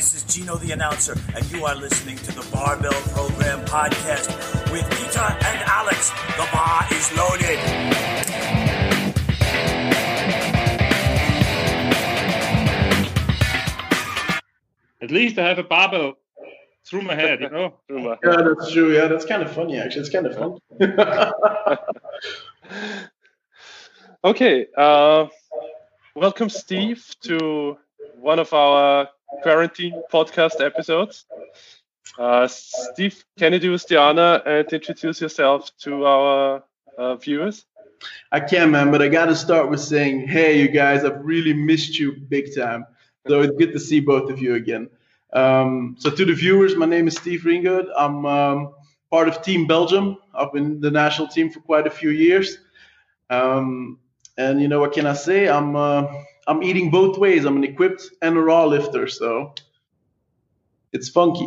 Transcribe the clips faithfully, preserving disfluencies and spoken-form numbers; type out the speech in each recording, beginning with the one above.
this is Gino the announcer, and you are listening to the Barbell Program podcast with Peter and Alex. The bar is loaded. At least I have a barbell through my head, you know? Yeah, that's true. Yeah, that's kind of funny, actually. It's kind of fun. Okay. Uh, welcome, Steve, to one of our quarantine podcast episodes. Uh, Steve, can you do us the honor and introduce yourself to our uh, viewers? I can, man, but I got to start with saying, hey, you guys, I've really missed you big time. So it's good to see both of you again. Um, so to the viewers, my name is Steve Ringgoed. I'm um, part of Team Belgium. I've been in the national team for quite a few years. Um, and you know, what can I say? I'm uh, I'm eating both ways. I'm an equipped and a raw lifter, so it's funky.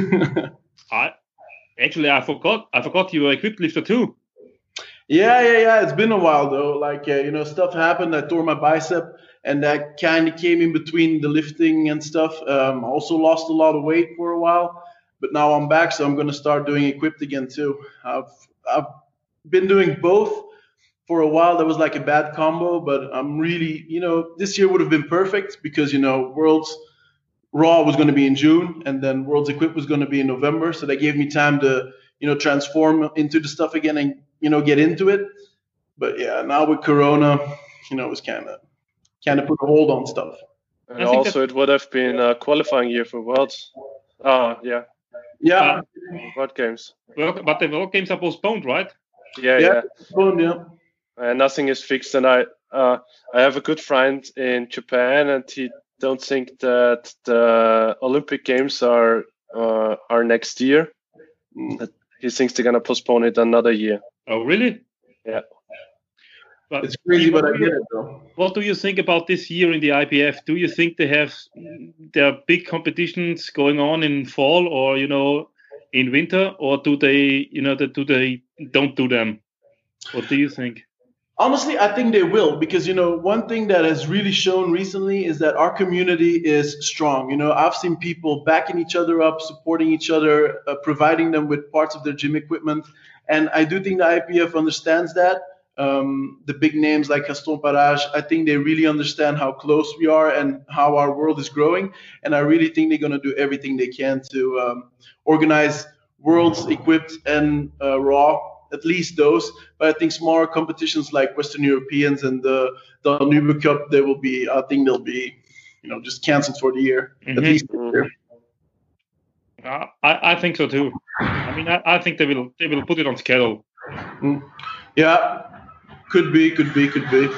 I actually I forgot I forgot you were equipped lifter too. Yeah, yeah, yeah. It's been a while though. Like uh, you know, stuff happened. I tore my bicep. And that kind of came in between the lifting and stuff. Um, I also lost a lot of weight for a while, but now I'm back, so I'm going to start doing equipped again too. I've I've been doing both for a while. That was like a bad combo, but I'm really, you know, this year would have been perfect because, you know, Worlds Raw was going to be in June, and then Worlds Equipped was going to be in November. So that gave me time to, you know, transform into the stuff again and, you know, get into it. But yeah, now with Corona, you know, it was kind of. Kind of put a hold on stuff. And also, it would have been a qualifying year for Worlds. Oh, yeah. Yeah. Uh, World Games. But the World Games are postponed, right? Yeah, yeah. yeah. Postponed, yeah. And nothing is fixed. And I, uh, I have a good friend in Japan, and he don't think that the Olympic Games are uh, are next year. Mm. He thinks they're gonna postpone it another year. Oh, really? Yeah. But it's crazy, but I get it though. What do you think about this year in the I P F? Do you think they have there are big competitions going on in fall or you know in winter, or do they you know do they don't do them? What do you think? Honestly, I think they will because you know one thing that has really shown recently is that our community is strong. You know, I've seen people backing each other up, supporting each other, uh, providing them with parts of their gym equipment, and I do think the I P F understands that. Um, the big names like Gaston Parage, I think they really understand how close we are and how our world is growing. And I really think they're going to do everything they can to um, organize Worlds Equipped and uh, Raw, at least those. But I think smaller competitions like Western Europeans and the, the Danube Cup, they will be, I think they'll be, you know, just canceled for the year, mm-hmm. at least this year. Uh, I, I think so too. I mean, I, I think they will they will put it on schedule. Mm. Yeah. Could be, could be, could be.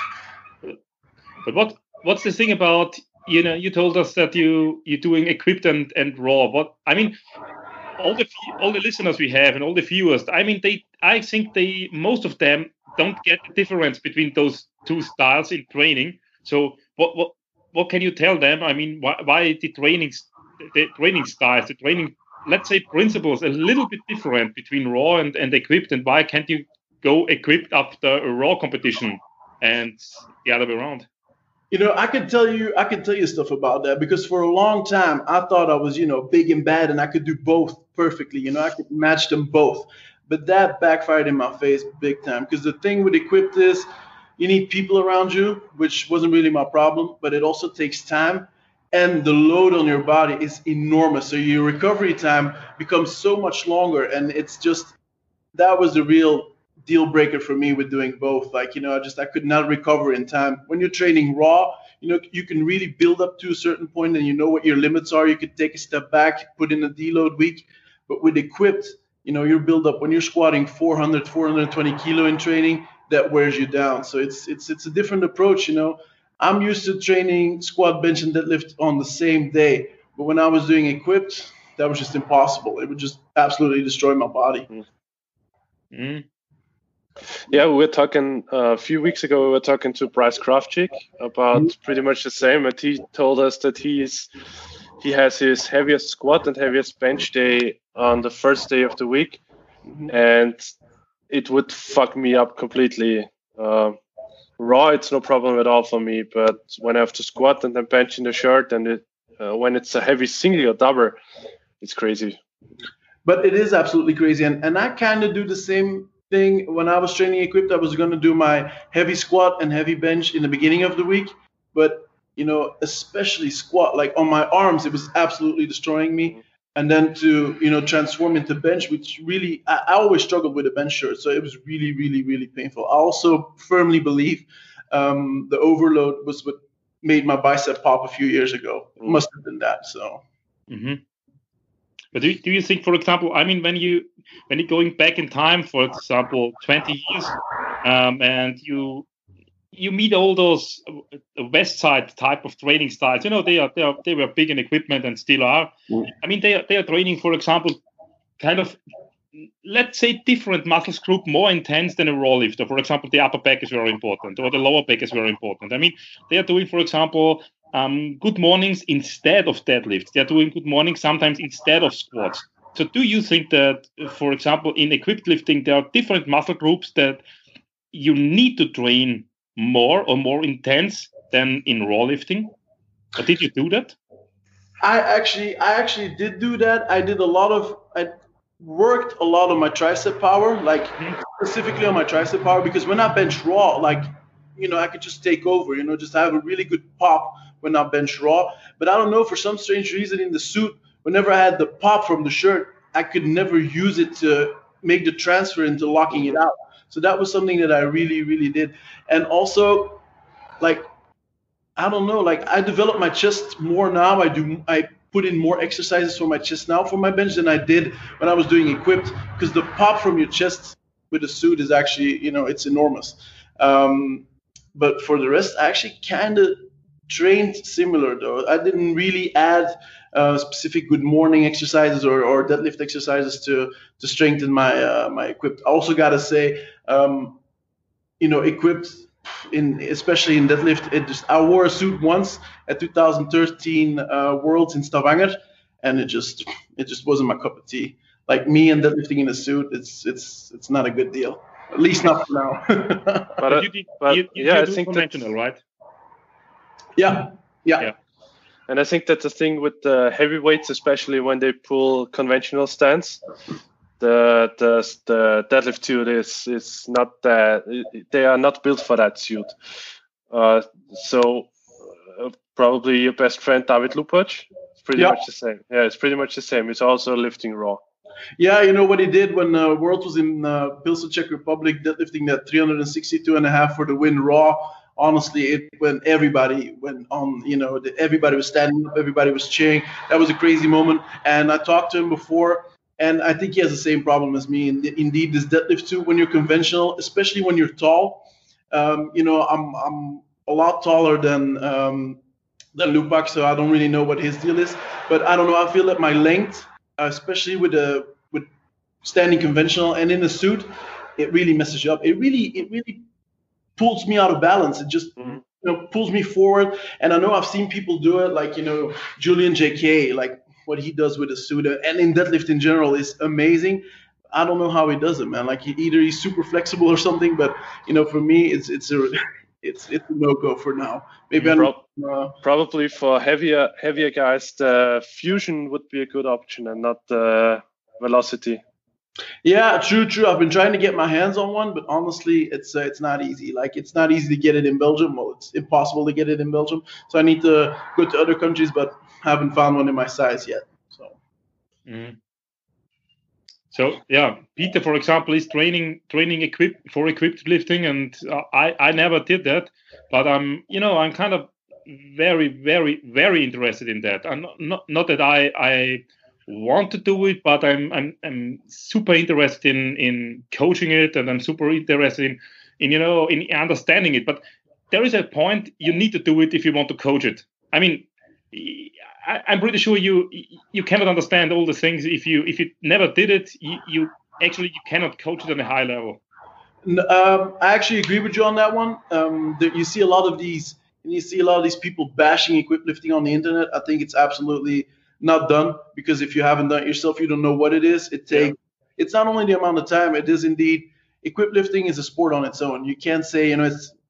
But what what's the thing about, you know, you told us that you, you're doing equipped and, and raw. What I mean, all the all the listeners we have and all the viewers, I mean, they I think they most of them don't get the difference between those two styles in training. So what what what can you tell them? I mean, why, why the training the training styles, the training, let's say principles, a little bit different between raw and, and equipped, and why can't you go equipped after a raw competition and the other way around? You know, I could tell you, I could tell you stuff about that because for a long time I thought I was, you know, big and bad and I could do both perfectly. You know, I could match them both, but that backfired in my face big time because the thing with equipped is you need people around you, which wasn't really my problem, but it also takes time and the load on your body is enormous. So your recovery time becomes so much longer, and it's just, that was the real deal breaker for me with doing both. Like, you know, I just, I could not recover in time. When you're training raw, you know, you can really build up to a certain point and you know what your limits are. You could take a step back, put in a deload week. But with equipped, you know, your build up, when you're squatting four hundred, four hundred twenty kilo in training, that wears you down. So it's, it's, it's a different approach. You know, I'm used to training squat, bench, and deadlift on the same day. But when I was doing equipped, that was just impossible. It would just absolutely destroy my body. Mm-hmm. Yeah, we were talking uh, a few weeks ago. We were talking to Bryce Kravchik about mm-hmm. pretty much the same, and he told us that he's he has his heaviest squat and heaviest bench day on the first day of the week, mm-hmm. and it would fuck me up completely. Uh, raw, it's no problem at all for me, but when I have to squat and then bench in the shirt, and it uh, when it's a heavy single or double, it's crazy. But it is absolutely crazy, and and I kind of do the same thing when I was training equipped. I was going to do my heavy squat and heavy bench in the beginning of the week, but you know, especially squat, like on my arms, it was absolutely destroying me. And then to, you know, transform into bench, which really, I, I always struggled with a bench shirt. So it was really, really, really painful. I also firmly believe um, the overload was what made my bicep pop a few years ago. It must have been that. So. Mm-hmm. But do, do you think, for example, I mean, when you when you're going back in time, for example, twenty years, um, and you you meet all those West Side type of training styles, you know, they are they are they were big in equipment and still are. Mm. I mean, they are they are training, for example, kind of, let's say, different muscles group more intense than a raw lifter. For example, the upper back is very important, or the lower back is very important. I mean, they are doing, for example, um, good mornings instead of deadlifts. They are doing good mornings sometimes instead of squats. So do you think that, for example, in equipped lifting, there are different muscle groups that you need to train more or more intense than in raw lifting? Or did you do that? I actually, I actually did do that. I did a lot of, I worked a lot on my tricep power, like mm-hmm. specifically on my tricep power, because when I bench raw, like, you know, I could just take over, you know, just have a really good pop when I bench raw. But I don't know, for some strange reason in the suit, whenever I had the pop from the shirt, I could never use it to make the transfer into locking it out. So that was something that I really, really did. And also, like, I don't know, like I developed my chest more now. I do, I put in more exercises for my chest now for my bench than I did when I was doing equipped, because the pop from your chest with the suit is actually, you know, it's enormous. Um, but for the rest, I actually kind of trained similar though. I didn't really add uh, specific good morning exercises or, or deadlift exercises to to strengthen my uh, my equipped. I also gotta say, um, you know, equipped in especially in deadlift. It just I wore a suit once at two thousand thirteen uh, Worlds in Stavanger, and it just it just wasn't my cup of tea. Like me and deadlifting in a suit, it's it's it's not a good deal. At least not for now. but uh, you did, but you, you yeah, I do think conventional, that, right? Yeah, yeah, yeah. And I think that's the thing with the heavyweights, especially when they pull conventional stance. The the the deadlift suit is is not that, they are not built for that suit. Uh, so uh, probably your best friend David Lupac, it's pretty yeah. much the same. Yeah, it's pretty much the same. It's also lifting raw. Yeah, you know what he did when uh, World was in uh, Pilsen, Czech Republic, deadlifting that three sixty-two and a half for the win raw. Honestly, it when everybody went on, you know, the, everybody was standing up, everybody was cheering. That was a crazy moment. And I talked to him before, and I think he has the same problem as me. And indeed, this deadlift too, when you're conventional, especially when you're tall, um, you know, I'm I'm a lot taller than um, than Lupac, so I don't really know what his deal is. But I don't know. I feel that my length, especially with a with standing conventional and in a suit, it really messes you up. It really, it really pulls me out of balance. It just mm-hmm. you know pulls me forward. And I know I've seen people do it, like you know Julian J K, like what he does with a suit and in deadlift in general is amazing. I don't know how he does it, man. Like he, either he's super flexible or something, but you know for me it's it's a it's it's a no go for now. Maybe I'm Pro- uh, probably for heavier heavier guys, the fusion would be a good option and not the velocity. Yeah, true, true. I've been trying to get my hands on one, but honestly, it's uh, it's not easy. Like it's not easy to get it in Belgium. Well, it's impossible to get it in Belgium. So I need to go to other countries, but haven't found one in my size yet. So. Mm. So yeah, Peter, for example, is training training equip for equipped lifting, and uh, I I never did that, but I'm you know I'm kind of very very very interested in that. I'm not not, not that I I. want to do it, but I'm I'm I'm super interested in in coaching it, and I'm super interested in in you know in understanding it. But there is a point you need to do it if you want to coach it. I mean, I, I'm pretty sure you you cannot understand all the things if you if you never did it. You, you actually you cannot coach it on a high level. Um, I actually agree with you on that one. Um, there, you see a lot of these, and you see a lot of these people bashing equipped lifting on the internet. I think it's absolutely not done, because if you haven't done it yourself, you don't know what it is. It takes. Yeah. It's not only the amount of time. It is indeed. Equipped lifting is a sport on its own. You can't say you know it's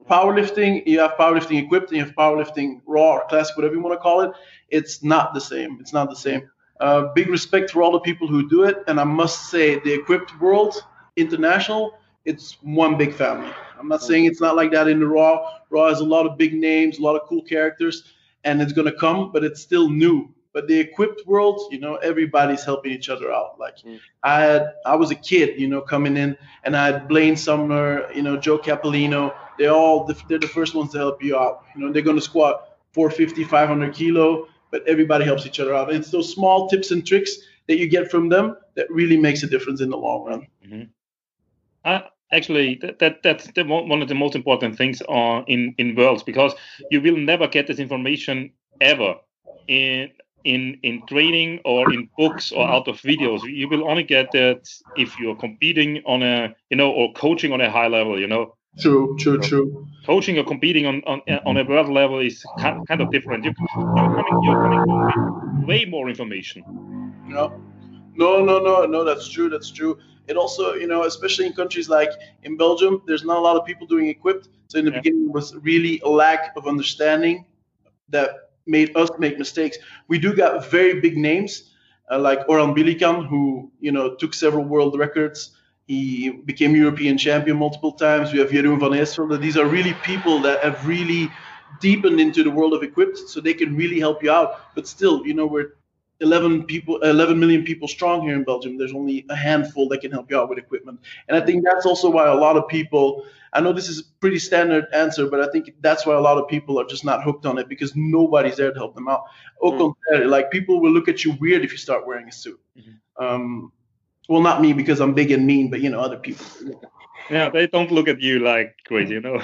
powerlifting, you have powerlifting equipped and you have powerlifting raw or classic, whatever you want to call it. It's not the same. It's not the same. Uh, big respect for all the people who do it. And I must say, the equipped world, international, it's one big family. I'm not saying it's not like that in the raw. Raw has a lot of big names, a lot of cool characters, and it's going to come, but it's still new. But the equipped world, you know, everybody's helping each other out. Like mm. I had, I was a kid, you know, coming in, and I had Blaine Sumner, you know, Joe Capolino. They're all, the, they're the first ones to help you out. You know, they're going to squat four fifty, five hundred kilo, but everybody helps each other out. It's those small tips and tricks that you get from them that really makes a difference in the long run. Mm-hmm. Uh, actually, that, that that's the, one of the most important things uh, in in worlds, because you will never get this information ever in. in in training or in books or out of videos. You will only get that if you're competing on a, you know, or coaching on a high level, you know. True, true, true. Coaching or competing on on, on a world level is kind, kind of different. You, you're coming, you're coming with way more information. No, no, no, no, no, that's true, that's true. It also, you know, especially in countries like in Belgium, there's not a lot of people doing equipped. So in the yeah. beginning, it was really a lack of understanding that made us make mistakes. We do got very big names uh, like Orhan Bilikan, who, you know, took several world records. He became European champion multiple times. We have Jeroen van Eerselde. These are really people that have really deepened into the world of equipped, so they can really help you out. But still, you know, we're eleven people, eleven million people strong here in Belgium. There's only a handful that can help you out with equipment. And I think that's also why a lot of people, I know this is a pretty standard answer, but I think that's why a lot of people are just not hooked on it, because nobody's there to help them out. Au contraire, like people will look at you weird if you start wearing a suit. Mm-hmm. Um, well, not me, because I'm big and mean, but, you know, other people. Yeah, they don't look at you like crazy, you know.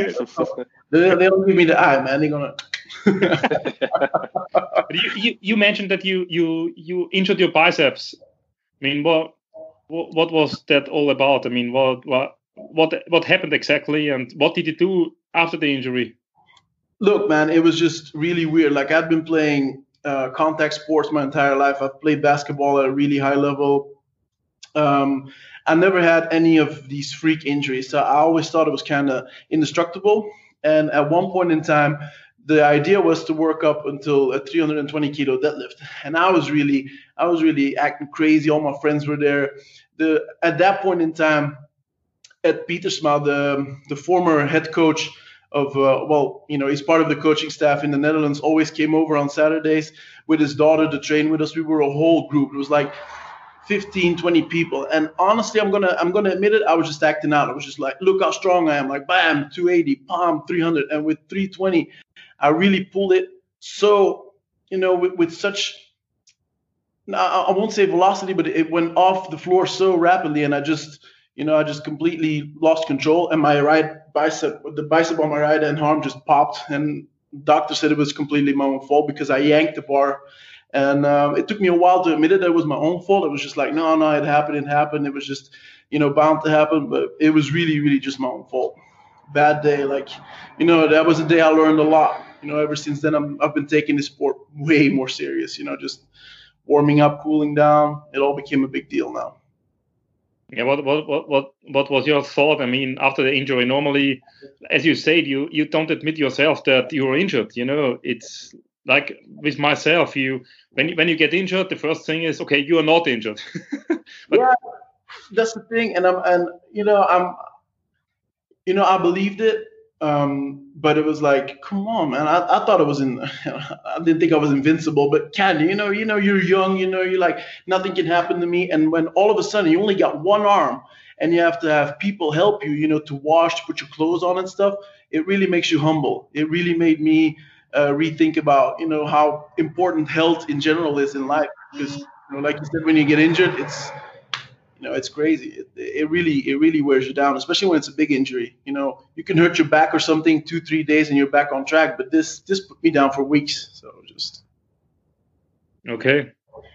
they, they don't give me the eye, man. They're gonna. you, you you mentioned that you you you injured your biceps. I mean, what what, what was that all about? I mean, what what what what happened exactly, and what did you do after the injury? Look, man, it was just really weird. Like, I've been playing uh, contact sports my entire life. I've played basketball at a really high level. Um, I never had any of these freak injuries, so I always thought it was kind of indestructible. And at one point in time, the idea was to work up until a three hundred twenty kilo deadlift, and I was really, I was really acting crazy. All my friends were there. The at that point in time, Ed Pietersma, the the former head coach of, uh, well, you know, he's part of the coaching staff in the Netherlands, always came over on Saturdays with his daughter to train with us. We were a whole group. It was like fifteen, twenty people. And honestly, I'm gonna I'm gonna admit it, I was just acting out. I was just like, look how strong I am. Like, bam, two eighty, palm, three hundred. And with three twenty, I really pulled it so, you know, with, with such, I won't say velocity, but it went off the floor so rapidly. And I just, you know, I just completely lost control. And my right bicep, the bicep on my right hand arm just popped. And the doctor said it was completely my own fault because I yanked the bar. And um, it took me a while to admit it. That it was my own fault. It was just like, no, no, it happened. It happened. It was just, you know, bound to happen. But it was really, really just my own fault. Bad day. Like, you know, that was a day I learned a lot. You know, ever since then, I'm, I've been taking the sport way more serious. You know, just warming up, cooling down. It all became a big deal now. Yeah. What what what what what was your thought? I mean, after the injury, normally, as you said, you you don't admit yourself that you were injured. You know, it's like with myself, you when you, when you get injured, the first thing is, okay, you are not injured. But, yeah, that's the thing, and I'm and you know I'm, you know I believed it, um, but it was like, come on, man, I, I thought it was in, I didn't think I was invincible, but can you know you know you're young, you know you're like nothing can happen to me, and when all of a sudden you only got one arm and you have to have people help you, you know, to wash, to put your clothes on and stuff, it really makes you humble. It really made me. Uh, rethink about, you know, how important health in general is in life. Because, you know, like you said, when you get injured, it's, you know, it's crazy. It, it really, it really wears you down, especially when it's a big injury. You know, you can hurt your back or something two, three days and you're back on track. But this, this put me down for weeks. So just. Okay.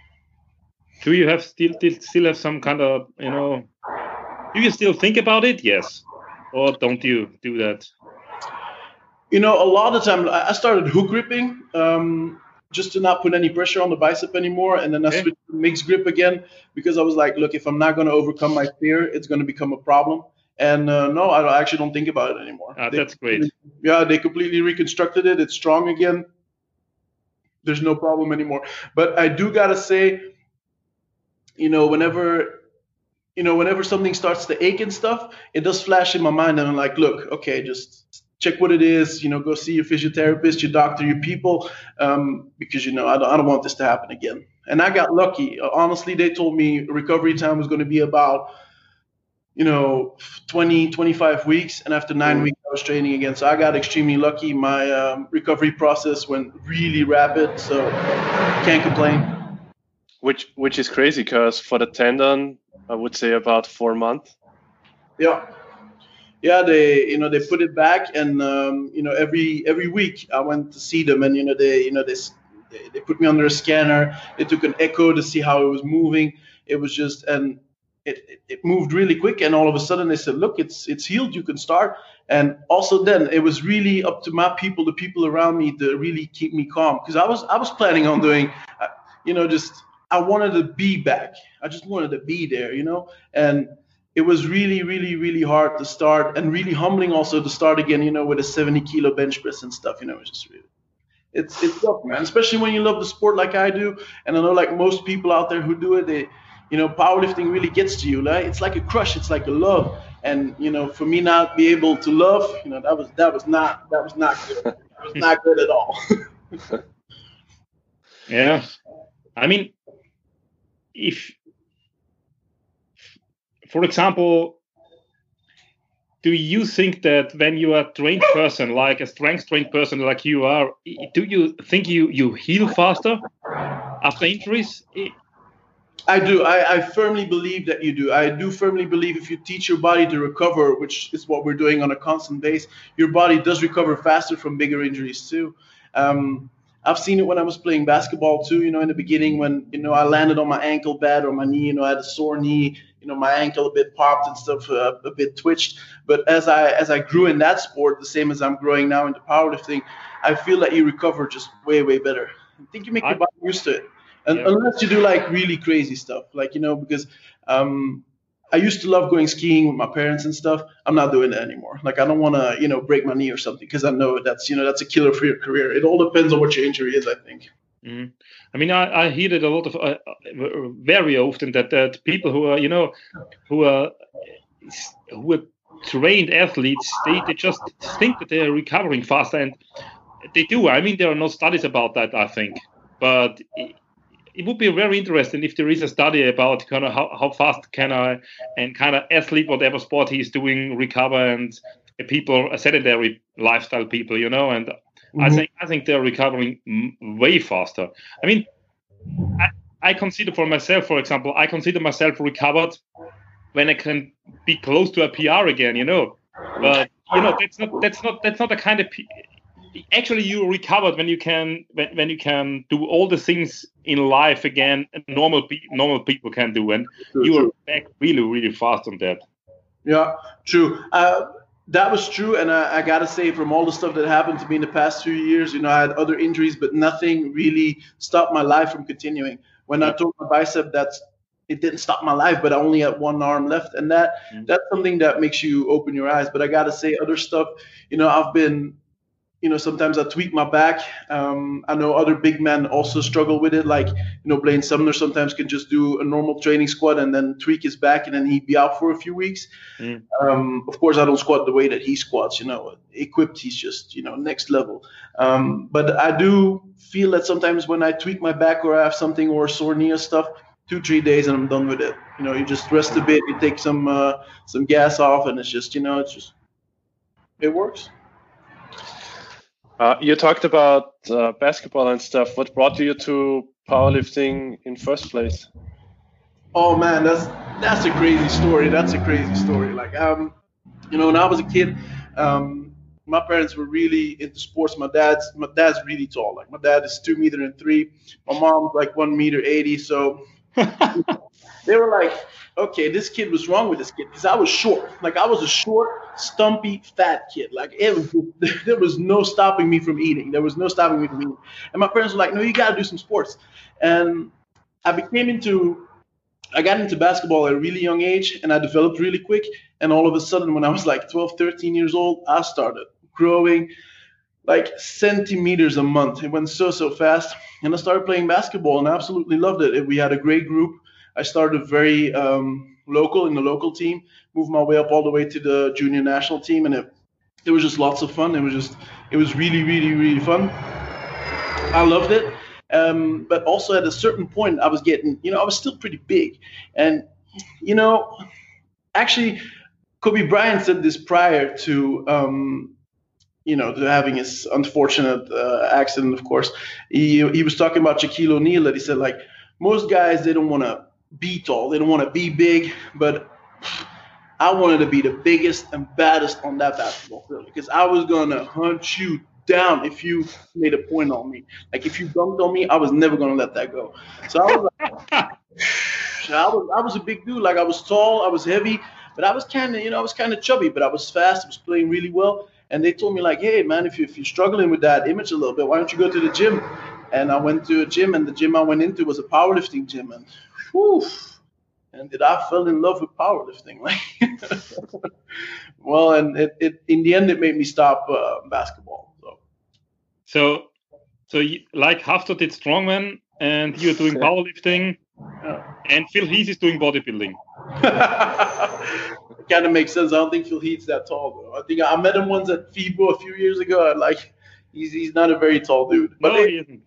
Do you have still, still have some kind of, you know, do you still think about it? Yes. Or don't you do that? You know, a lot of the time I started hook gripping um, just to not put any pressure on the bicep anymore. And then I okay. switched to mixed grip again because I was like, look, if I'm not going to overcome my fear, it's going to become a problem. And uh, no, I don't- I actually don't think about it anymore. Ah, They that's great. completely- Yeah, they completely reconstructed it. It's strong again. There's no problem anymore. But I do gotta say, you know, whenever, you know, whenever something starts to ache and stuff, it does flash in my mind, and I'm like, look, okay, just check what it is. You know, go see your physiotherapist, your doctor, your people, um, because you know, I don't, I don't want this to happen again. And I got lucky. Uh, Honestly, they told me recovery time was going to be about, you know, twenty, twenty-five weeks, and after nine weeks, I was training again. So I got extremely lucky. My um, recovery process went really rapid, so can't complain. Which which is crazy because for the tendon, I would say about four months. Yeah. Yeah, they you know they put it back, and um, you know every every week I went to see them, and you know they you know they, s- they they put me under a scanner. They took an echo to see how it was moving. It was just and it, it it moved really quick, and all of a sudden they said, look, it's it's healed. You can start. And also then it was really up to my people, the people around me, to really keep me calm, because I was I was planning on doing, uh, you know, just I wanted to be back. I just wanted to be there, you know, and it was really, really, really hard to start, and really humbling also to start again, you know, with a seventy kilo bench press and stuff. You know, it's just really, it's it's tough, man. Especially when you love the sport like I do, and I know like most people out there who do it, they, you know, powerlifting really gets to you. Like it's like a crush, it's like a love, and you know, for me not be able to love, you know, that was that was not that was not good. That was not good at all. Yeah. I mean, if, for example, do you think that when you are a trained person, like a strength trained person like you are, i- do you think you, you heal faster after injuries? I- I do. I, I firmly believe that you do. I do firmly believe if you teach your body to recover, which is what we're doing on a constant base, your body does recover faster from bigger injuries too. Um, I've seen it when I was playing basketball too. You know, in the beginning when you know I landed on my ankle bad or my knee, you know, I had a sore knee. You know, my ankle a bit popped and stuff, uh, a bit twitched. But as I as I grew in that sport, the same as I'm growing now into powerlifting, I feel that you recover just way way better. I think you make I- your body used to it. And Yeah. unless you do like really crazy stuff, like you know, because um, I used to love going skiing with my parents and stuff. I'm not doing that anymore. Like I don't want to, you know, break my knee or something because I know that's you know that's a killer for your career. It all depends on what your injury is, I think. Mhm. I mean, I, I hear it a lot of, uh, uh, very often that, that people who are, you know, who are, who are trained athletes, they, they just think that they're recovering faster, and they do. I mean, there are no studies about that, I think, but it, it would be very interesting if there is a study about kind of how, how fast can I, and kind of athlete, whatever sport he's doing, recover, and people, sedentary lifestyle people, you know, and I think I think they're recovering m- way faster. I mean, I, I consider for myself, for example, I consider myself recovered when I can be close to a P R again, you know. But you know, that's not that's not that's not the kind of P- actually you recovered when you can when, when you can do all the things in life again normal pe- normal people can do, and True, you are true. back really really fast on that. Yeah, true. Uh, that was true, and I, I gotta say, from all the stuff that happened to me in the past few years, you know, I had other injuries, but nothing really stopped my life from continuing. When I tore my bicep, that's it didn't stop my life, but I only had one arm left, and that Mm. that's something that makes you open your eyes. But I gotta say, other stuff, you know, I've been. You know, sometimes I tweak my back. Um, I know other big men also struggle with it. Like, you know, Blaine Sumner sometimes can just do a normal training squat and then tweak his back, and then he'd be out for a few weeks. Mm. Um, of course, I don't squat the way that he squats. You know, equipped, he's just you know next level. Um, but I do feel that sometimes when I tweak my back or I have something or sore knee or stuff, two three days and I'm done with it. You know, you just rest a bit, you take some uh, some gas off, and it's just you know it's just it works. Uh, you talked about uh, basketball and stuff. What brought you to powerlifting in first place? Oh man, that's that's a crazy story. That's a crazy story. Like um, you know, when I was a kid, um, my parents were really into sports. My dad's my dad's really tall. Like my dad is two meter and three. My mom's like one meter eighty. So they were like, okay, this kid was wrong with this kid because I was short. Like I was a short, stumpy, fat kid. Like it was, there was no stopping me from eating. There was no stopping me from eating. And my parents were like, no, you got to do some sports. And I became into I got into basketball at a really young age, and I developed really quick. And all of a sudden, when I was like twelve, thirteen years old, I started growing like centimeters a month. It went so, so fast. And I started playing basketball, and I absolutely loved it. We had a great group. I started very um, local in the local team, moved my way up all the way to the junior national team, and it, it was just lots of fun. It was just, it was really, really, really fun. I loved it. Um, but also at a certain point, I was getting, you know, I was still pretty big. And, you know, actually, Kobe Bryant said this prior to, um, you know, to having his unfortunate uh, accident, of course. He, he was talking about Shaquille O'Neal, that he said, like, most guys, they don't want to be tall. They don't want to be big. But I wanted to be the biggest and baddest on that basketball field because I was going to hunt you down if you made a point on me. Like if you dunked on me, I was never gonna let that go. So I was like, I was I was a big dude. Like I was tall, I was heavy, but I was kind of, you know, I was kind of chubby, but I was fast. I was playing really well. And they told me like, hey man, if you if you're struggling with that image a little bit, why don't you go to the gym? And I went to a gym, and the gym I went into was a powerlifting gym, and whew, and did I fell in love with powerlifting? Like, well, and it, it in the end it made me stop uh, basketball. So, so you, like Hafthor did strongman, and you're doing powerlifting, Yeah. and Phil Heath is doing bodybuilding. It kind of makes sense. I don't think Phil Heath's that tall, though. I think I met him once at FIBO a few years ago, and like, he's he's not a very tall dude. But No, it, he isn't.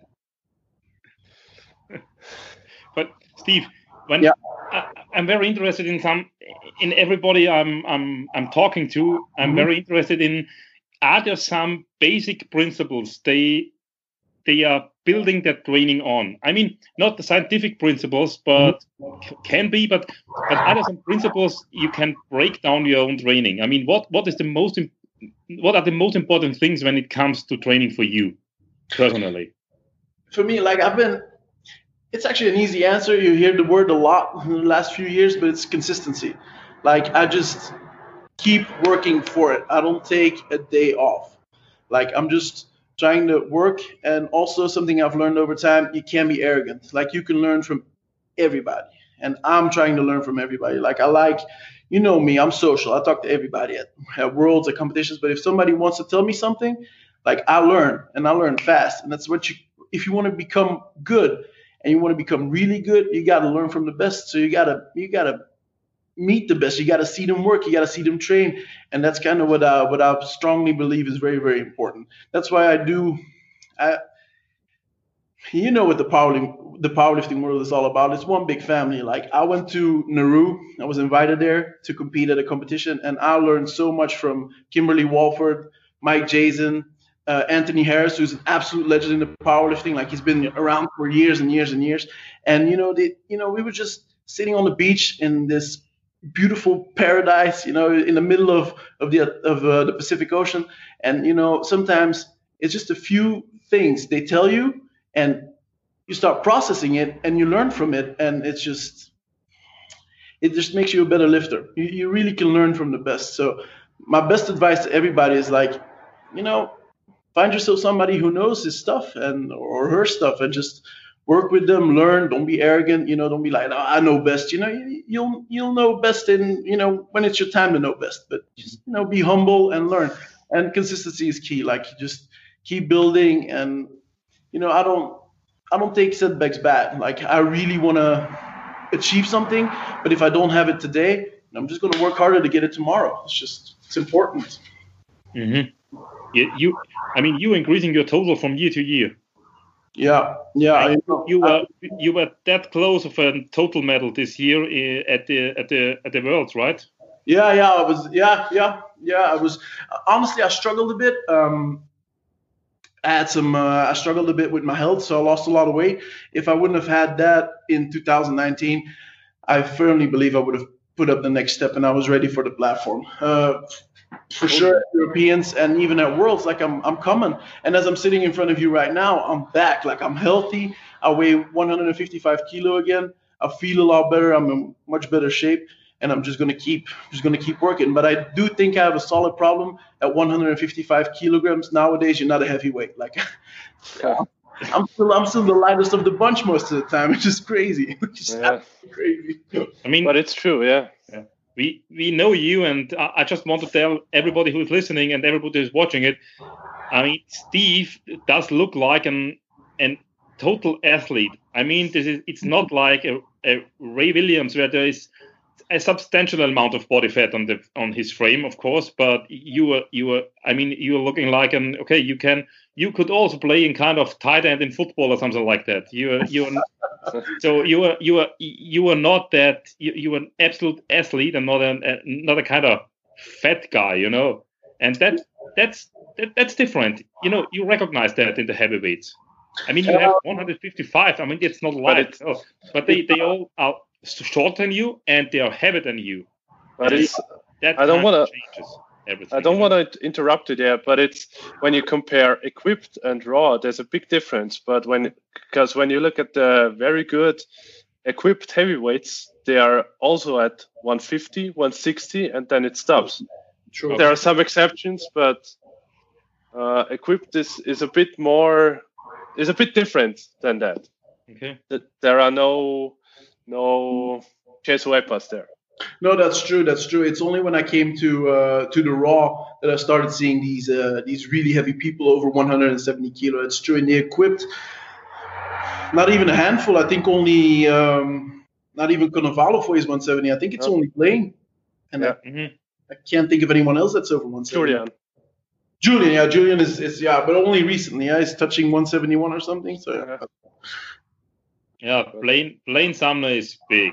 But Steve, when Yeah. I, I'm very interested in some, in everybody I'm I'm I'm talking to, I'm Mhm. very interested in. Are there some basic principles they they are building their training on? I mean, not the scientific principles, but c- can be. But but are there some principles you can break down your own training? I mean, what what is the most im- what are the most important things when it comes to training for you personally? for me, like I've been, it's actually an easy answer. You hear the word a lot in the last few years, but it's consistency. Like I just keep working for it. I don't take a day off. Like I'm just trying to work. And also something I've learned over time, you can't be arrogant. Like you can learn from everybody. And I'm trying to learn from everybody. Like I like, you know me, I'm social. I talk to everybody at, at worlds, at competitions. But if somebody wants to tell me something, like I learn, and I learn fast. And that's what you, if you want to become good and you want to become really good, you got to learn from the best. So you got to, you got to meet the best. You got to see them work. You got to see them train. And that's kind of what I, what I strongly believe is very, very important. That's why I do, I, you know what the powerlifting, the powerlifting world is all about. It's one big family. Like I went to Nauru. I was invited there to compete at a competition, and I learned so much from Kimberly Walford, Mike Jason, uh, Anthony Harris, who's an absolute legend in the powerlifting. Like he's been around for years and years and years. And you know, they, you know, we were just sitting on the beach in this beautiful paradise, you know, in the middle of of the of uh, the Pacific Ocean. And you know, sometimes it's just a few things they tell you, and you start processing it, and you learn from it, and it's just it just makes you a better lifter. You you really can learn from the best. So my best advice to everybody is like, you know, find yourself somebody who knows his stuff and or her stuff, and just work with them, learn. Don't be arrogant, you know. Don't be like, oh, I know best. You know, you, you'll you'll know best in, you know, when it's your time to know best. But just, you know, be humble and learn. And consistency is key. Like just keep building. And you know, I don't I don't take setbacks bad. Like I really want to achieve something, but if I don't have it today, I'm just going to work harder to get it tomorrow. It's just it's important. Mm-hmm. You, you, I mean, you increasing your total from year to year. Yeah, yeah. I, you were you were that close of a total medal this year at the at the at the Worlds, right? Yeah, yeah. I was. Yeah, yeah, yeah. I was. Honestly, I struggled a bit. Um, I had some. Uh, I struggled a bit with my health, so I lost a lot of weight. If I wouldn't have had that in two thousand nineteen, I firmly believe I would have put up the next step, and I was ready for the platform. Uh, For sure, Europeans and even at Worlds, like I'm, I'm coming. And as I'm sitting in front of you right now, I'm back. Like I'm healthy. I weigh one hundred fifty-five kilo again. I feel a lot better. I'm in much better shape, and I'm just gonna keep, just gonna keep working. But I do think I have a solid problem at one hundred fifty-five kilograms nowadays. You're not a heavyweight. Like, I'm still I'm still the lightest of the bunch most of the time, which is crazy. Which is Yeah. crazy. I mean, But it's true, yeah. we we know you, and I, I just want to tell everybody who is listening and everybody who's watching it. I mean, Steve does look like an an total athlete. I mean, this is it's not like a, a Ray Williams where there is a substantial amount of body fat on the on his frame, of course. But you were you were I mean, you were looking like an okay. You can you could also play in kind of tight end in football or something like that. You were you were so you were you were you were not that you, you were an absolute athlete and not an a, not a kind of fat guy, you know. And that that's that, that's different. You know, you recognize that in the heavyweights. I mean, you have one fifty-five. I mean, it's not light, but, no. but they, they all are shorter than you and they are heavier than you. But and it's that I don't kind of want to changes everything. I don't you know? want to interrupt you there, but it's when you compare equipped and raw, there's a big difference. But when because when you look at the very good equipped heavyweights, they are also at one fifty, one sixty, and then it stops. True. There are some exceptions, but uh, equipped is, is a bit more is a bit different than that. Okay. That there are no no Jesuepas there. No, that's true. That's true. It's only when I came to uh, to the Raw that I started seeing these uh, these really heavy people over one hundred seventy kilo. It's true, and they equipped not even a handful. I think only um, not even Cannavaro weighs one seventy. I think it's Oh. only Blaine, and Yeah. I, Mhm. I can't think of anyone else that's over one seventy. Julian. Julian, yeah, Julian is, is yeah, but only recently. Yeah, he's touching one seventy-one or something. So yeah. Yeah, Blaine Blaine Sumner is big.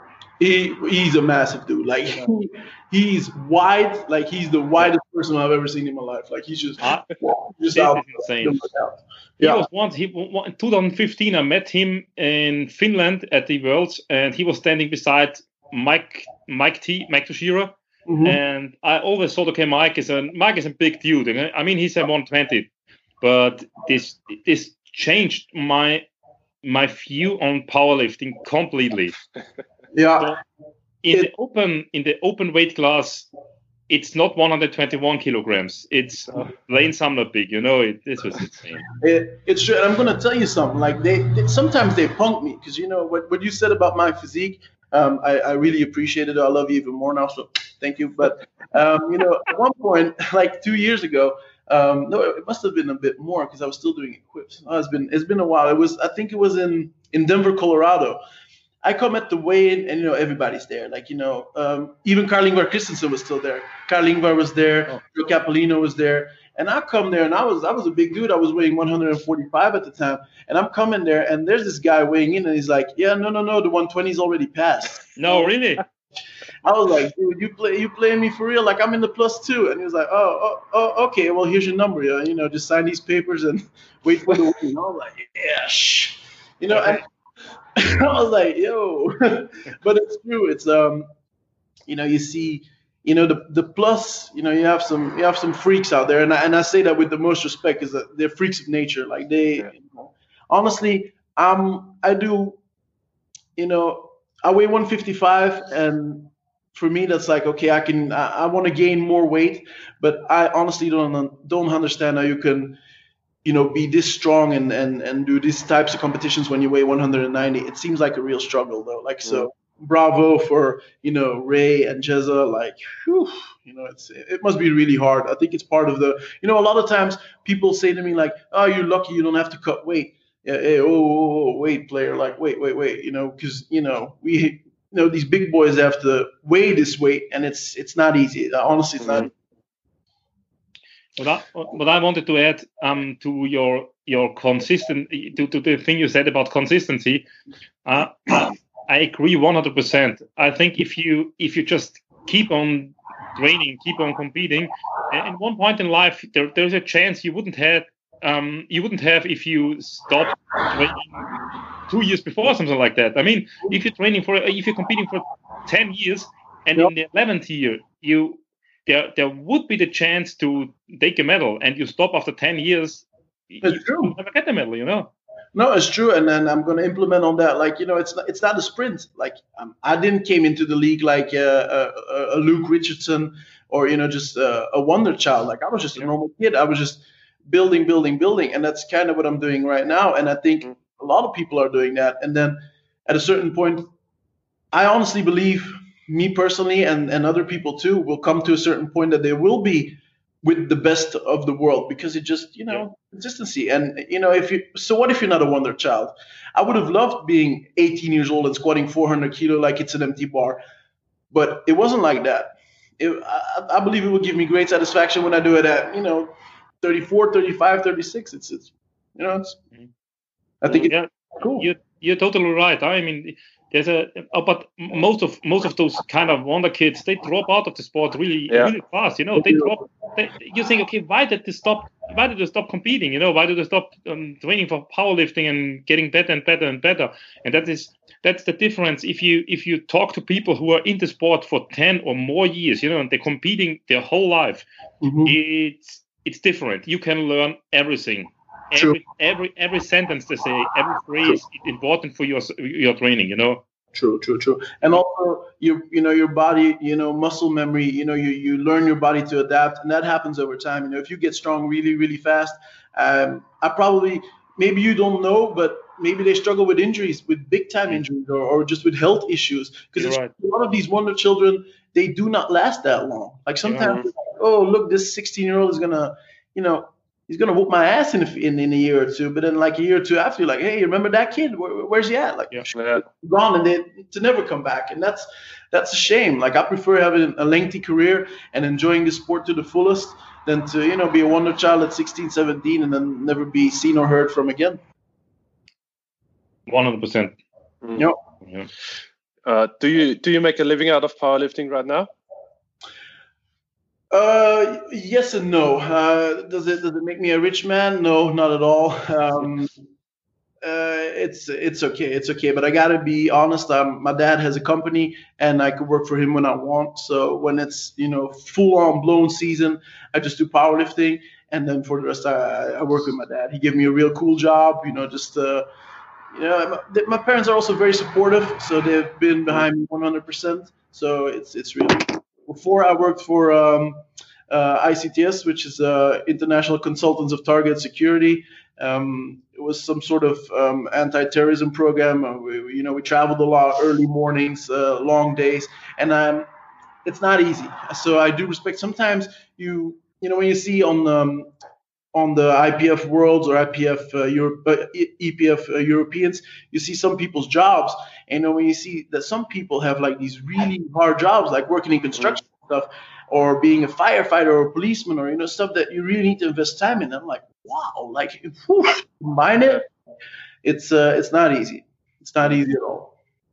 he he's a massive dude. Like he, he's wide. Like he's the widest person I've ever seen in my life. Like he's just Ah, just this out. is insane. He Yeah. was once he w- in twenty fifteen. I met him in Finland at the Worlds, and he was standing beside Mike Mike T Mike Toshiro. Mhm. And I always thought, okay, Mike is a Mike is a big dude. And I mean, he's a one twenty, but this this changed my my view on powerlifting completely. Yeah. In It- the open in the open weight class, it's not one hundred twenty-one kilograms. It's Blaine Sumner big. You know, it, this was insane. It, it's true, and I'm gonna tell you something. Like they, they sometimes they punk me because you know what what you said about my physique. Um, I, I really appreciate it. I love you even more now, so thank you. But um, you know, at one point, like two years ago, um, no, it must have been a bit more because I was still doing equips. Oh, it's been it's been a while. It was I think it was in in Denver, Colorado. I come at the weigh-in, and you know everybody's there. Like you know, um, even Carl Ingvar Christensen was still there. Carl Ingvar was there. Oh. Joe Capolino was there. And I come there, and I was I was a big dude. I was weighing one hundred forty-five at the time. And I'm coming there, and there's this guy weighing in, and he's like, "Yeah, no, no, no, the one twenty's already passed." No, really. I was like, "Dude, you play you playing me for real? Like I'm in the plus two." And he was like, "Oh, oh, oh okay. Well, here's your number. Yeah, you know, just sign these papers and wait for the weigh-in." I was like, "Yeah, shh," you know. And I was like, "Yo," but it's true. It's um, you know, you see. You know the the plus. You know you have some you have some freaks out there, and I, and I say that with the most respect, is that they're freaks of nature. Like they, Yeah. you know, honestly, um, I do. You know, I weigh one fifty-five, and for me, that's like okay, I can. I, I want to gain more weight, but I honestly don't don't understand how you can, you know, be this strong and and and do these types of competitions when you weigh one hundred ninety. It seems like a real struggle, though. Like so. Bravo for you know Ray and Jezza, like whew, you know it's it must be really hard. I think it's part of the you know a lot of times people say to me like, oh, you're lucky you don't have to cut weight. Yeah, hey, oh, oh, oh wait, player, like wait, wait, wait, you know, because you know we you know these big boys have to weigh this weight, and it's it's not easy. Honestly, it's not. Mhm. What I, what I wanted to add um, to your your consistent to, to the thing you said about consistency, uh, I agree one hundred percent. I think if you if you just keep on training, keep on competing, and at one point in life there, there's a chance you wouldn't have um, you wouldn't have if you stopped training two years before or something like that. I mean, if you're training for if you're competing for ten years and Yep. in the eleventh year you there there would be the chance to take a medal, and you stop after ten years, It's you true. never get the medal, you know. No, it's true, and then I'm going to implement on that. Like you know, it's not, it's not a sprint. Like um, I didn't came into the league like uh, a, a Luke Richardson or you know just uh, a wonder child. Like I was just a Yeah. normal kid. I was just building, building, building, and that's kind of what I'm doing right now. And I think a lot of people are doing that. And then at a certain point, I honestly believe, me personally, and, and other people too, will come to a certain point that they will be with the best of the world, because it just, you know, yeah. consistency. And, you know, if you, so what if you're not a wonder child? I would have loved being eighteen years old and squatting four hundred kilo like it's an empty bar, but it wasn't like that. It, I, I believe it will give me great satisfaction when I do it at, you know, thirty-four, thirty-five, thirty-six. It's, it's you know, it's, I think yeah. it's cool. You're, you're totally right. I mean, there's a, but most of most of those kind of wonder kids, they drop out of the sport really, yeah. really fast. You know, they drop. They, you think, okay, why did they stop? Why did they stop competing? You know, why did they stop um, training for powerlifting and getting better and better and better? And that is that's the difference. If you if you talk to people who are in the sport for ten or more years, you know, and they're competing their whole life, mm-hmm. it's it's different. You can learn everything. Every, every every sentence they say, every phrase is important for your your training, you know. True, true, true. And also, you you know, your body, you know, muscle memory, you know, you, you learn your body to adapt, and that happens over time. You know, if you get strong really, really fast, um, I probably, maybe you don't know, but maybe they struggle with injuries, with big time injuries, or, or just with health issues. Because right. a lot of these wonder children, they do not last that long. Like sometimes, yeah. like, oh, look, this sixteen year old is gonna, you know, he's gonna whoop my ass in, in in a year or two. But then, like a year or two after, you're like, hey, remember that kid? Where, where's he at? Like, yeah. gone, and they to never come back. And that's that's a shame. Like, I prefer having a lengthy career and enjoying the sport to the fullest than to, you know, be a wonder child at sixteen, seventeen and then never be seen or heard from again. One hundred percent. Yep. Yeah. Uh, do you do you make a living out of powerlifting right now? Uh, yes and no. Uh, does it does it make me a rich man? No, not at all. Um, uh, it's it's okay, it's okay. But I gotta be honest. Um, my dad has a company, and I could work for him when I want. So when it's, you know, full on blown season, I just do powerlifting, and then for the rest, I, I work with my dad. He gave me a real cool job. You know, just uh, you know, my, my parents are also very supportive, so they've been behind me one hundred percent. So it's it's really. Before I worked for um, uh, I C T S, which is uh, International Consultants of Target Security. Um, it was some sort of um, anti-terrorism program. Uh, we, you know, we traveled a lot, early mornings, uh, long days, and um, it's not easy. So I do respect. Sometimes you, you know, when you see on um, on the I P F Worlds or I P F uh, Europe, uh, E P F uh, Europeans, you see some people's jobs. And you know, when you see that some people have like these really hard jobs, like working in construction stuff, or being a firefighter or a policeman, or, you know, stuff that you really need to invest time in. I'm like, wow, like, whew, combine it. It's uh, it's not easy. It's not easy at all.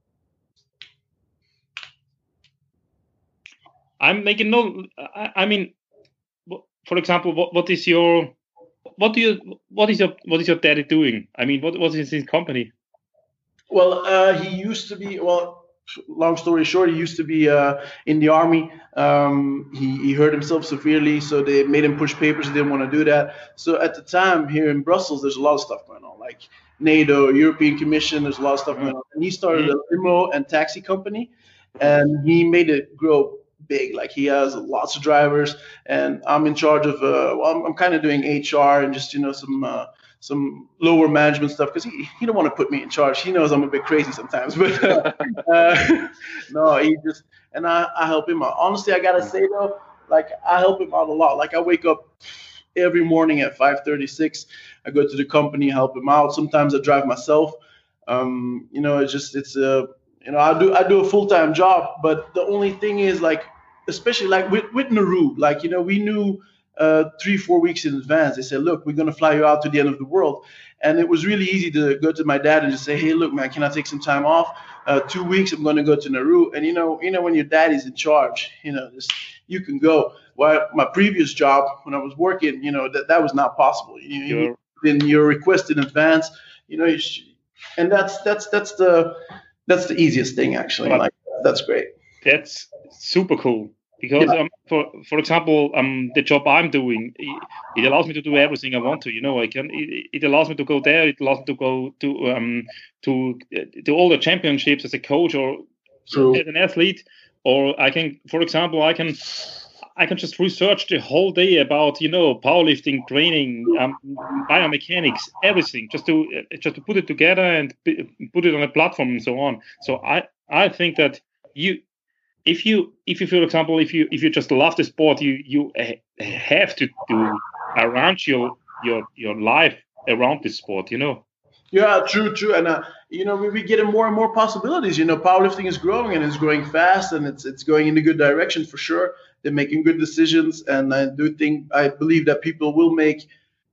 I'm making no. I, I mean, for example, what, what is your, what do you, what is your, what is your daddy doing? I mean, what what is his company? Well, uh, he used to be, well, long story short, he used to be uh, in the army. Um, he, he hurt himself severely, so they made him push papers. He didn't want to do that. So at the time here in Brussels, there's a lot of stuff going on, like NATO, European Commission, there's a lot of stuff going on. And he started a limo and taxi company, and he made it grow big. Like, he has lots of drivers, and I'm in charge of, uh, well, I'm, I'm kind of doing H R and just, you know, some uh, some lower management stuff, because he, he don't want to put me in charge. He knows I'm a bit crazy sometimes, but uh, uh, no, he just, and I, I help him out. Honestly, I gotta say though, like, I help him out a lot. Like, I wake up every morning at five thirty-six. I go to the company, help him out. Sometimes I drive myself. Um, you know, it's just, it's a, you know, I do I do a full-time job, but the only thing is, like, especially like with, with Nauru, like, you know, we knew uh, three, four weeks in advance. They said, look, we're going to fly you out to the end of the world. And it was really easy to go to my dad and just say, hey, look, man, can I take some time off? Uh, two weeks, I'm going to go to Nauru. And, you know, you know, when your daddy's in charge, you know, just, you can go. Well, my previous job, when I was working, you know, that, that was not possible. You, you in your request in advance, you know, you sh- and that's, that's, that's the, that's the easiest thing, actually. Like, that's great. That's super cool. Because, yeah. um, for for example, um, the job I'm doing, it, it allows me to do everything I want to. You know, I can. It, it allows me to go there. It allows me to go to um to to all the championships as a coach or True. as an athlete. Or I can, for example, I can. I can just research the whole day about, you know, powerlifting, training, um, biomechanics, everything, just to uh, just to put it together and p- put it on a platform and so on. So I, I think that you, if you, if you, for example, if you if you just love the sport, you you have to to arrange your your your life around this sport, you know. Yeah, true, true, and uh, you know we, we getting more and more possibilities. You know, powerlifting is growing and it's growing fast, and it's it's going in a good direction for sure. They're making good decisions, and I do think I believe that people will make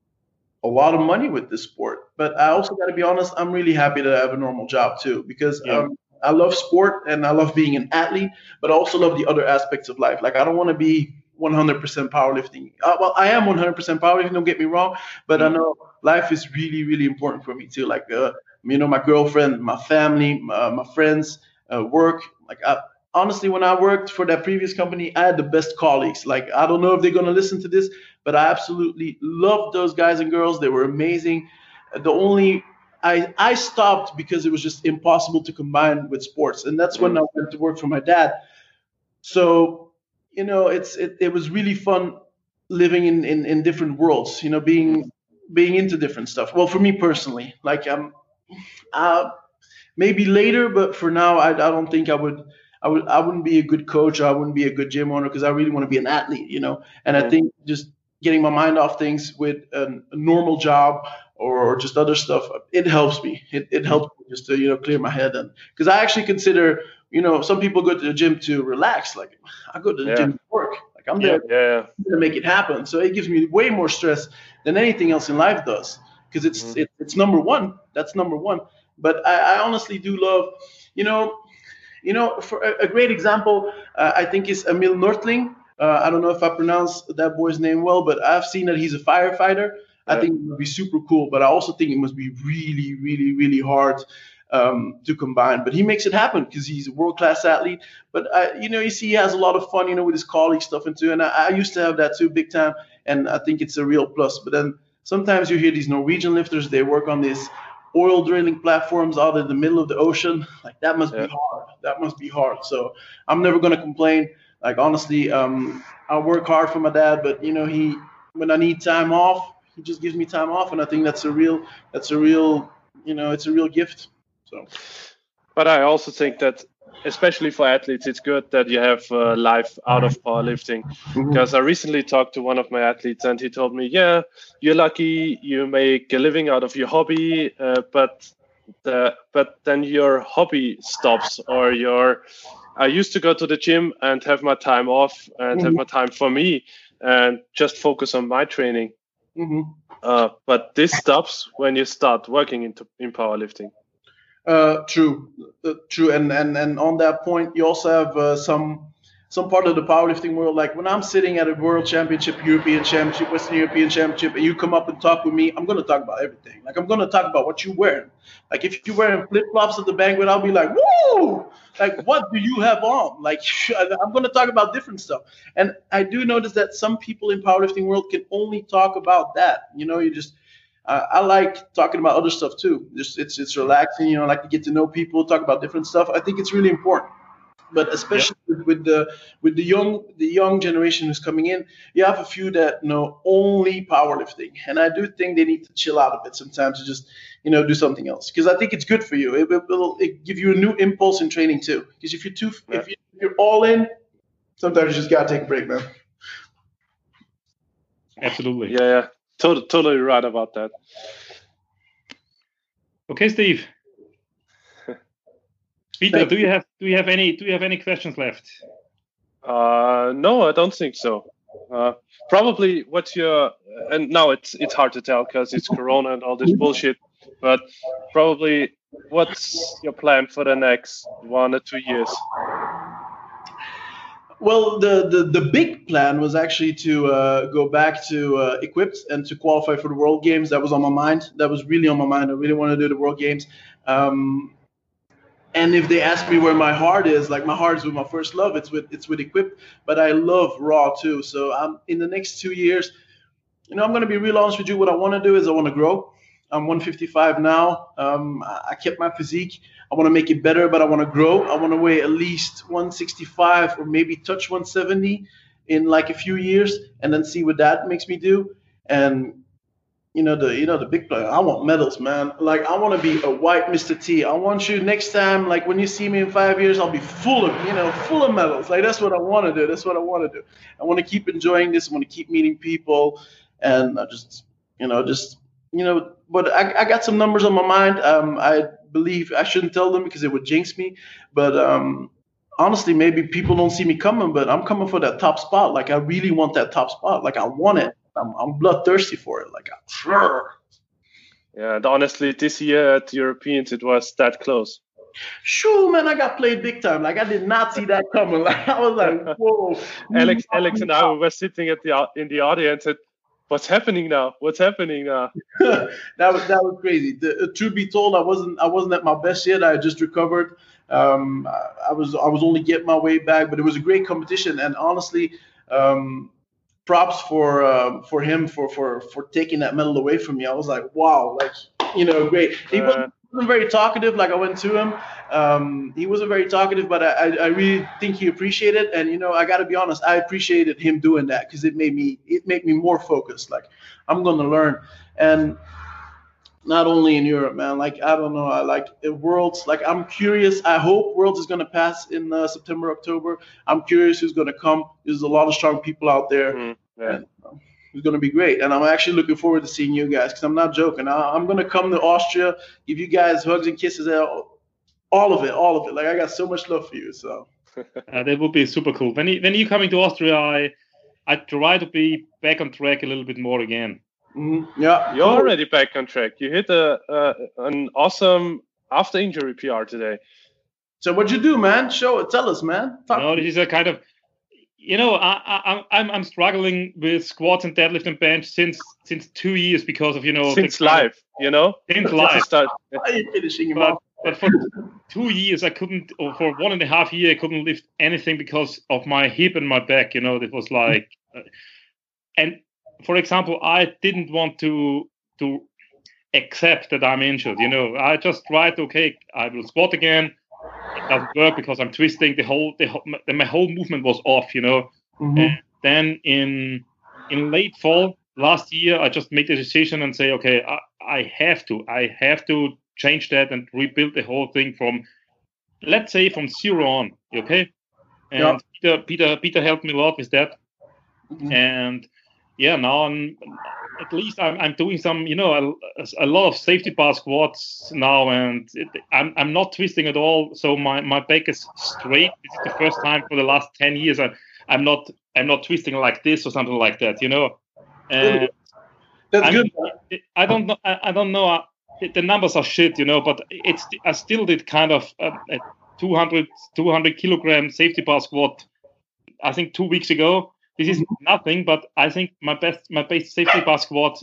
a lot of money with this sport. But I also got to be honest, I'm really happy that I have a normal job too, because Yeah. um, I love sport and I love being an athlete, but I also love the other aspects of life. Like I don't want to be one hundred percent powerlifting. Uh, well, I am one hundred percent powerlifting. Don't get me wrong, but I know life is really, really important for me too. Like, uh, you know, my girlfriend, my family, my, my friends, uh, work. Like, I, honestly, when I worked for that previous company, I had the best colleagues. Like, I don't know if they're gonna listen to this, but I absolutely loved those guys and girls. They were amazing. The only I, I stopped because it was just impossible to combine with sports, and that's when I went to work for my dad. So, you know, it's it, it was really fun living in, in, in different worlds, you know, being being into different stuff. Well, for me personally, like um, uh, maybe later, but for now, I, I don't think I would I would I wouldn't be a good coach. Or I wouldn't be a good gym owner because I really want to be an athlete, you know. And I think just getting my mind off things with a, a normal job or just other stuff, it helps me. It, it helps me just to, you know, clear my head. And because I actually consider, you know, some people go to the gym to relax. Like I go to the Yeah. gym to work. Like I'm Yeah, there yeah, to make it happen. So it gives me way more stress than anything else in life does, because it's Mhm. it, it's number one. That's number one. But I, I honestly do love, you know, you know, for a, a great example, uh, I think is Emil Nortling. Uh, I don't know if I pronounced that boy's name well, but I've seen that he's a firefighter. I Yeah. think it would be super cool, but I also think it must be really, really, really hard um, to combine. But he makes it happen because he's a world-class athlete. But I, you know, you see, he has a lot of fun, you know, with his colleagues stuff and too. And I, I used to have that too, big time. And I think it's a real plus. But then sometimes you hear these Norwegian lifters, they work on this oil drilling platforms out in the middle of the ocean. Like that must Yeah. be hard. That must be hard. So I'm never gonna complain. Like honestly, um, I work hard for my dad, but you know, he when I need time off, he just gives me time off, and I think that's a real that's a real you know it's a real gift. So But I also think that, especially for athletes, it's good that you have uh, life out of powerlifting. Because I recently talked to one of my athletes, and he told me, "Yeah, you're lucky, you make a living out of your hobby, uh, but the but then your hobby stops, or your I used to go to the gym and have my time off and have my time for me and just focus on my training. hmm Uh, but this stops when you start working into in powerlifting." Uh, true, uh, true, and and and on that point, you also have uh, some some part of the powerlifting world. Like when I'm sitting at a World Championship, European Championship, Western European Championship, and you come up and talk with me, I'm gonna talk about everything. Like I'm gonna talk about what you're wearing. Like if you're wearing flip flops at the banquet, I'll be like, "Woo! Like what do you have on?" Like I'm gonna talk about different stuff. And I do notice that some people in powerlifting world can only talk about that. You know, you just uh, I like talking about other stuff too. Just it's it's relaxing. You know, I like to get to know people, talk about different stuff. I think it's really important. But especially with, with the with the young the young generation who's coming in, you have a few that know only powerlifting, and I do think they need to chill out a bit sometimes to just you know do something else, because I think it's good for you. It will it give you a new impulse in training too. Because if you're too Yeah. if, you, if you're all in, sometimes you just gotta take a break, man. Absolutely. Yeah, yeah, totally, totally right about that. Okay, Steve. Peter, Thank do you have do you have any do you have any questions left? Uh, no, I don't think so. Uh, probably what's your and now it's it's hard to tell because it's Corona and all this bullshit. But probably what's your plan for the next one or two years? Well, the, the, the big plan was actually to uh, go back to uh, Equipped and to qualify for the World Games. That was on my mind. That was really on my mind. I really want to do the World Games. Um, and if they ask me where my heart is, like my heart is with my first love. It's with it's with Equipped, but I love Raw too. So I'm in the next two years. You know, I'm going to be real honest with you. What I want to do is I want to grow. I'm one fifty-five now. Um, I kept my physique. I want to make it better, but I want to grow. I want to weigh at least one sixty-five or maybe touch one seventy. in like a few years, and then see what that makes me do. And you know the you know the big player. I want medals, man. Like I want to be a white Mister T. I want you next time, like when you see me in five years, I'll be full of you know full of medals. Like that's what I want to do. That's what I want to do. I want to keep enjoying this. I want to keep meeting people, and I just you know just you know. But I, I got some numbers on my mind. Um, I believe I shouldn't tell them because it would jinx me. But um, honestly, maybe people don't see me coming, but I'm coming for that top spot. Like I really want that top spot. Like I want it. I'm, I'm bloodthirsty for it. Like, I'm, yeah. And honestly, this year at the Europeans, it was that close. Sure, man. I got played big time. Like, I did not see that coming. Like, I was like, whoa. Alex, Alex, and I were sitting at the in the audience. And what's happening now? What's happening now? that was that was crazy. The, uh, truth be told, I wasn't I wasn't at my best yet. I had just recovered. Um, I, I was I was only getting my way back, but it was a great competition. And honestly. Um, props for uh, for him for, for for taking that medal away from me. I was like, wow, like you know, great. He wasn't, wasn't very talkative. Like I went to him, um, he wasn't very talkative, but I, I really think he appreciated it. And you know, I got to be honest, I appreciated him doing that because it made me it made me more focused. Like I'm gonna learn, and not only in Europe, man. Like I don't know, I like Worlds. Like I'm curious. I hope Worlds is gonna pass in uh, September, October. I'm curious who's gonna come. There's a lot of strong people out there, mm, yeah. and um, it's gonna be great. And I'm actually looking forward to seeing you guys because I'm not joking. I, I'm gonna come to Austria, give you guys hugs and kisses, all of it, all of it. Like I got so much love for you. So uh, that would be super cool. When you, when you coming to Austria, I I try to be back on track a little bit more again. Mm-hmm. Yeah, you're already back on track. You hit a uh, an awesome after injury P R today. So what'd you do, man? Show it. Tell us, man. Talk no, this is a kind of, you know, I, I, I'm I'm struggling with squats and deadlift and bench since since two years because of you know since live, of, you know, since live. Why are you finishing him but, but for two years I couldn't, or for one and a half year I couldn't lift anything because of my hip and my back. You know, it was like, uh, and. For example, I didn't want to to accept that I'm injured. You know, I just tried. Okay, I will squat again. It doesn't work because I'm twisting. The whole the whole, my whole movement was off. You know. Mm-hmm. And then in in late fall last year, I just made the decision and say, okay, I, I have to. I have to change that and rebuild the whole thing from, let's say, from zero on. Okay. And yeah. Peter Peter Peter helped me a lot with that. Mm-hmm. And yeah, now I'm at least I'm I'm doing some, you know, a, a lot of safety bar squats now, and it, I'm I'm not twisting at all. So my, my back is straight. This is the first time for the last ten years I I'm not I'm not twisting like this or something like that, you know. And that's I'm, good. I don't know. I, I don't know. The numbers are shit, you know, but it's I still did kind of a, a two hundred kilogram safety bar squat. I think two weeks ago. This is nothing, but I think my best my best safety bar squat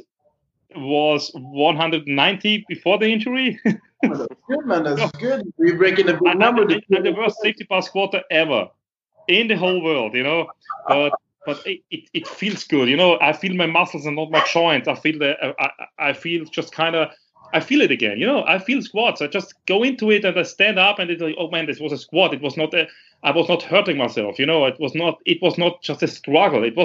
was one hundred ninety before the injury. That's good, man. That's good. We're breaking a big number. I'm, I'm the worst safety bar squatter ever in the whole world, you know. But but it, it, it feels good, you know. I feel my muscles and not my joints. I feel the I, I feel just kind of I feel it again, you know. I feel squats. I just go into it and I stand up and it's like, oh man, this was a squat. It was not a I was not hurting myself, you know. It was not. It was not just a struggle. It was.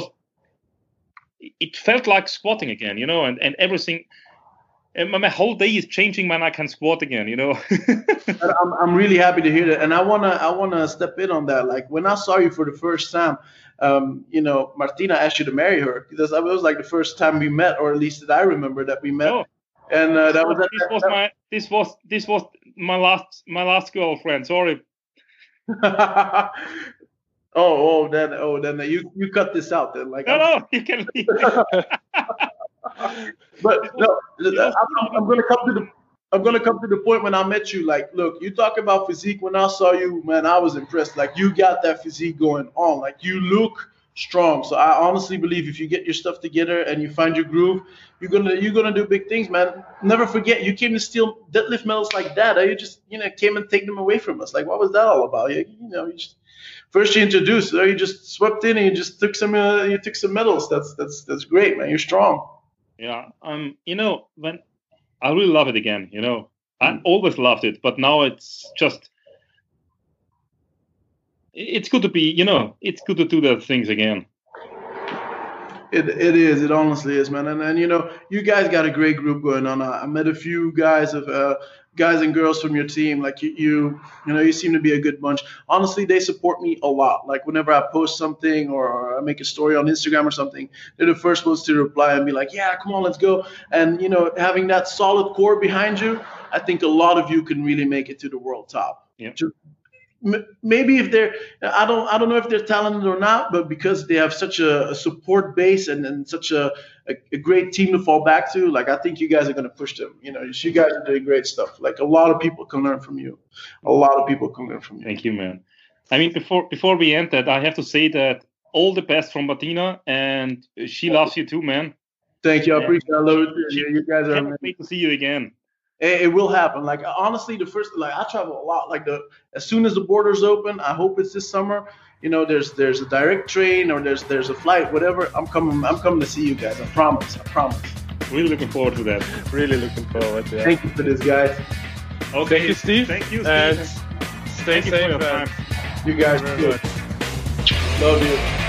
It felt like squatting again, you know, and, and everything. And my whole day is changing when I can squat again, you know. I'm I'm really happy to hear that, and I wanna I wanna step in on that. Like when I saw you for the first time, um, you know, Martina asked you to marry her because it was like the first time we met, or at least that I remember that we met. Oh. And uh, that was this that, was that, my this was this was my last my last girlfriend. Sorry. oh, oh, then, oh, then you you cut this out then. Like, no, I'm, no, you can leave. But no, I'm, I'm gonna come to the I'm gonna come to the point when I met you. Like, look, you talk about physique. When I saw you, man, I was impressed. Like, you got that physique going on. Like, you look strong. So I honestly believe if you get your stuff together and you find your groove, you're gonna you're gonna do big things, man. Never forget, you came to steal deadlift medals like that. You just you know came and take them away from us. Like, what was that all about? You, you know, you just, first you introduced, or you just swept in and you just took some uh, you took some medals. That's that's that's great, man. You're strong. Yeah. Um. You know, when I really love it again. You know, I always loved it, but now it's just. It's good to be, you know, it's good to do the things again. It it is. It honestly is, man. And and you know, you guys got a great group going on. I, I met a few guys of uh, guys and girls from your team. Like you, you, you know, you seem to be a good bunch. Honestly, they support me a lot. Like whenever I post something or, or I make a story on Instagram or something, they're the first ones to reply and be like, "Yeah, come on, let's go." And you know, having that solid core behind you, I think a lot of you can really make it to the world top. Yeah. Just, maybe if they're, I don't, I don't know if they're talented or not, but because they have such a, a support base and, and such a, a, a great team to fall back to, like I think you guys are going to push them. You know, you guys are doing great stuff. Like a lot of people can learn from you. A lot of people can learn from you. Thank you, man. I mean, before before we end that, I have to say that all the best from Martina, and she loves you too, man. Thank you. I appreciate it. I love it. You, you guys are Can't amazing. wait to see you again. It, it will happen. Like honestly, the first like I travel a lot. Like the as soon as the borders open, I hope it's this summer. You know, there's there's a direct train or there's there's a flight, whatever. I'm coming. I'm coming to see you guys. I promise. I promise. Really looking forward to that. Really looking forward. Yeah. Thank you for this, guys. Okay. Thank you, Steve. Thank you, Steve. And stay Thank you for safe. your and time. You guys Thank are you good. very much. Love you.